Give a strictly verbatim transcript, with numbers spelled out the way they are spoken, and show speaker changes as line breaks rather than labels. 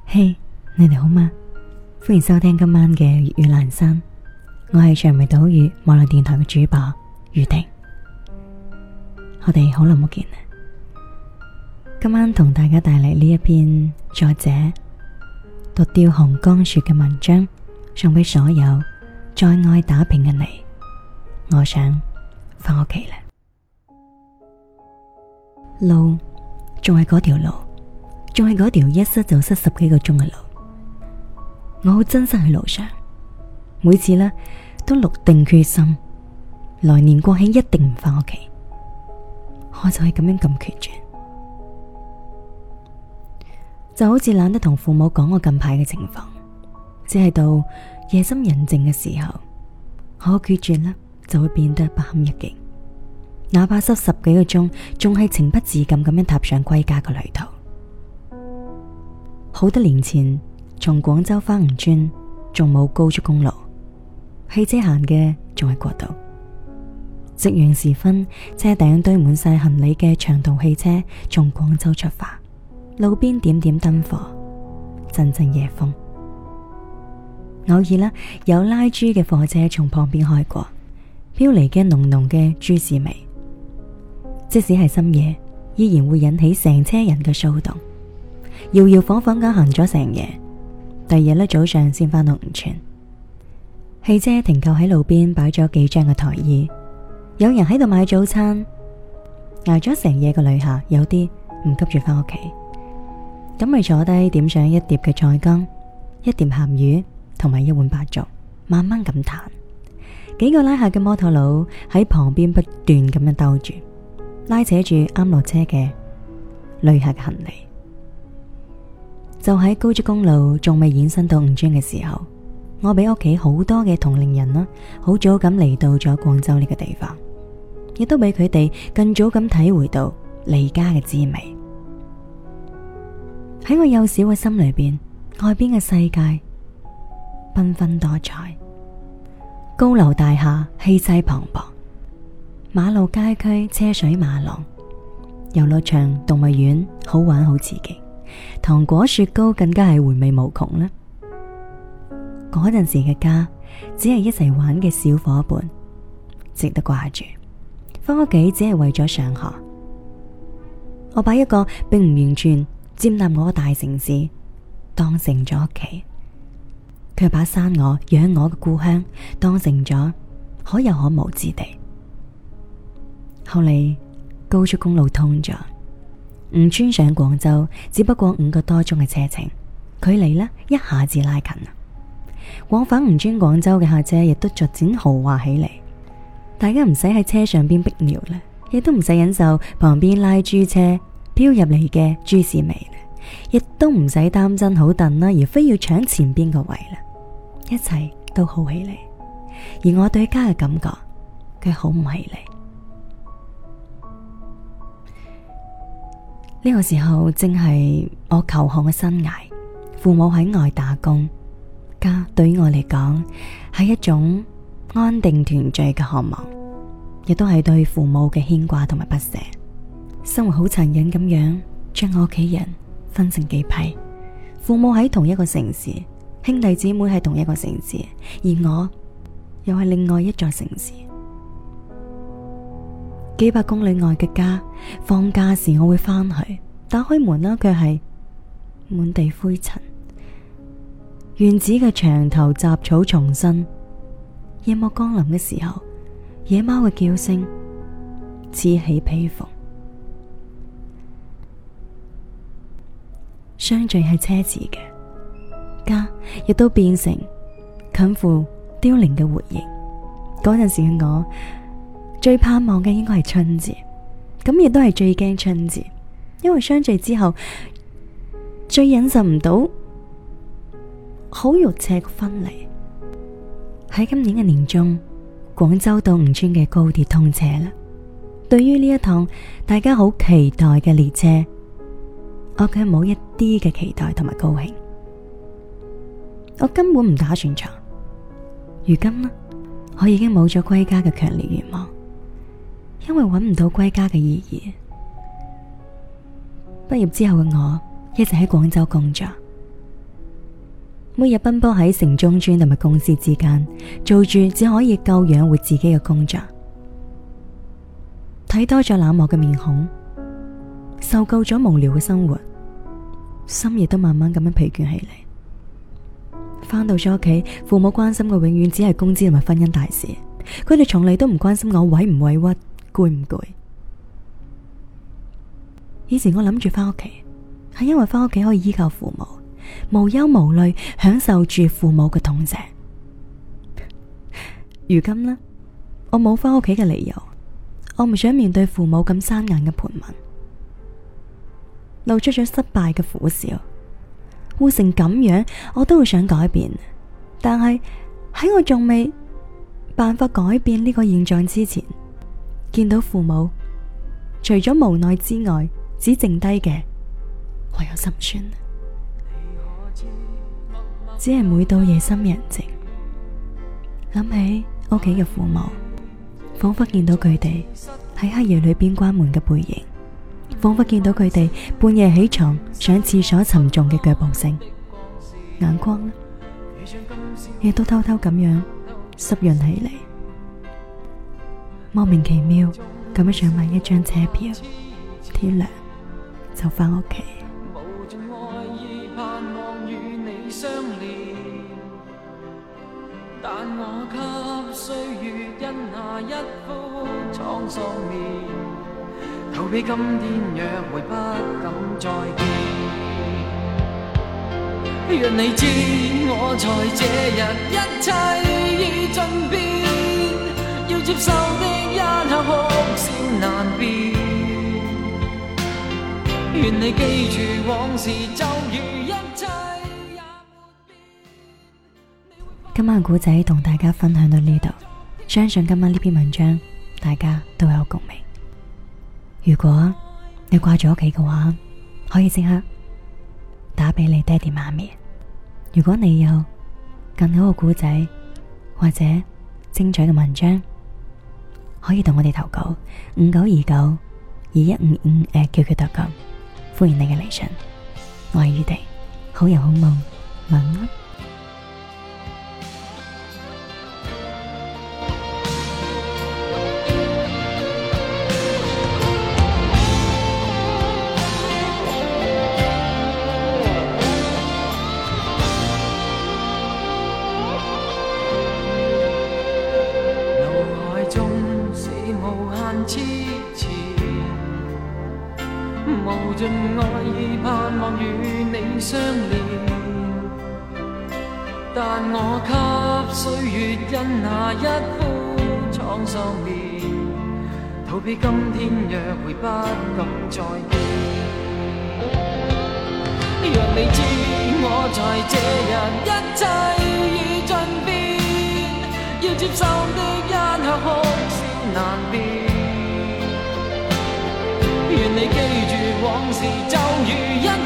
嘿，hey，你哋好嗎？歡迎收聽今晚嘅粵語闌珊，我係長尾島嶼網絡電台嘅主播雨婷。我哋好耐冇見啦，今晚同大家帶嚟呢一篇作者獨釣寒江雪嘅文章，送俾所有在外打拼嘅你。我想返屋企啦，路仲係嗰條路，仲係嗰條一塞就塞十幾個鐘嘅路。我好珍惜喺路上，每次呢都落定決心，來年國慶一定唔返屋企。我就係咁樣咁決絕，就好似懶得同父母講我近排嘅情況，只係到夜深人靜嘅時候，我決絕呢就會變得不堪一擊。哪怕塞十幾個鐘，仲係情不自禁咁樣踏上歸家嘅旅途。好多年前，從廣州返吳川仲冇高速公路，汽車行嘅仲係國道。夕陽時分，車頂堆滿晒行李嘅長途汽車從廣州出發，路邊點點燈火，陣陣夜風。偶爾啦，有拉豬嘅貨車從旁邊開過，飄嚟嘅濃濃嘅豬屎味，即使係深夜，依然會引起成車人嘅騷動。搖搖晃晃咁行咗成夜，第二日咧早上先返到吳川。汽車停靠喺路邊，擺咗幾張嘅台椅，有人喺度買早餐。挨咗成夜嘅旅客，有啲唔急住返屋企，咁咪坐低點上一碟嘅菜乾，一碟鹹魚同埋一碗白粥，慢慢咁嘆。幾個拉客嘅摩托佬喺旁邊不斷咁樣兜住，拉扯住啱落車嘅旅客嘅行李。就喺高速公路仲未延伸到吳川嘅時候，我比屋企好多嘅同齡人啦，好早咁嚟到咗廣州呢個地方，亦都比佢哋更早咁體會到離家嘅滋味。喺我幼小嘅心裏邊，外邊嘅世界繽紛多彩，高樓大廈氣勢磅礴，馬路街區車水馬龍，遊樂場動物園好玩好刺激，糖果雪糕更加係回味無窮啦。嗰陣時嘅家只係一齊玩嘅小伙伴，值得掛住。返屋企只係為咗上學。我把一個並唔完全佔納我嘅大城市當成咗屋企，卻把生我養我嘅故鄉當成咗可有可無之地。後嚟高速公路通咗，吳川上廣州只不過五個多鐘嘅車程，距離呢一下子拉近啦。往返吳川廣州嘅客車亦都逐漸豪華起嚟，大家唔使喺車上邊逼尿啦，亦都唔使忍受旁邊拉豬車飄入嚟嘅豬屎味啦，亦都唔使擔真好凳啦，而非要搶前邊個位啦，一切都好起嚟。而我對家嘅感覺，佢好唔起嚟。呢個時候正係我求學嘅生涯，父母喺外打工，家對於我嚟講係一種安定團聚嘅渴望，亦都係對父母嘅牽掛同埋不捨。生活好殘忍咁樣將我屋企人分成幾批，父母喺同一個城市，兄弟姊妹喺同一個城市，而我又係另外一座城市。幾百公里外嘅家，放假時我會返去，打開門啦，卻係滿地灰塵。院子嘅牆頭雜草叢生，夜幕降臨嘅時候，野貓嘅叫聲此起彼伏。相聚係奢侈嘅，家亦都變成近乎凋零嘅回憶。嗰陣時嘅我最盼望嘅應該係春節，咁亦都係最驚春節，因為相聚之後最忍受唔到好肉赤嘅分離。喺今年嘅年中，廣州到吳川嘅高鐵通車啦。對於呢一趟大家好期待嘅列車，我卻冇一啲嘅期待同埋高興。我根本唔打算坐。如今呢，我已經冇咗歸家嘅強烈願望，因為揾唔到歸家嘅意義。畢業之後嘅我一直喺廣州工作， 每日奔波喺城中村同埋公司之間，做住只可以夠養活自己嘅工作，睇多咗冷漠嘅面孔，受夠咗無聊嘅生活，心亦都慢慢咁樣疲倦起嚟。翻到咗屋企，父母關心嘅永遠只係工資同埋婚姻大事，佢哋從嚟都唔關心我委唔委屈，攰唔攰。以前我諗住翻屋企，係因為翻屋企可以依靠父母，無憂無慮，享受住父母嘅痛錫。如今呢，我冇翻屋企嘅理由，我唔想面對父母咁生硬嘅盤問，露出咗失敗嘅苦笑。活成咁樣，我都會想改變，但係喺我仲未辦法改變呢個現狀之前，見到父母除咗無奈之外，只剩低嘅唯有心酸。只係每到夜深人靜，諗起屋企嘅父母，仿佛見到佢哋喺黑夜裏邊關門嘅背影，仿佛見到佢哋半夜起床上廁所沉重嘅腳步聲，眼眶呢亦都偷偷咁樣濕潤起嚟，莫名其妙咁樣想買一張車票，天亮就翻屋企。
但我給歲月印下一幅滄桑面，逃避今天約會不敢再見。若你知我在這日一切已盡變，要接受的一刻哭笑難辨。願你記住往事就如一切。
今晚古仔同大家分享到呢度，相信今晚呢篇文章大家都有共鳴。如果你掛住屋企嘅話，可以即刻打俾你爹哋媽咪。如果你有更好嘅古仔或者精彩嘅文章，可以同我哋投稿五九二九二一五五 at Q Q 點 com， 歡迎你嘅嚟信。我係宇婷，好人好夢，晚安。
無盡愛意盼望與你相連，但我給歲月印下一幅滄桑面，逃避今天約會不敢再見。若你知我在這日一切已盡變，要接受的一刻哭笑難辨。願你記住往事就如一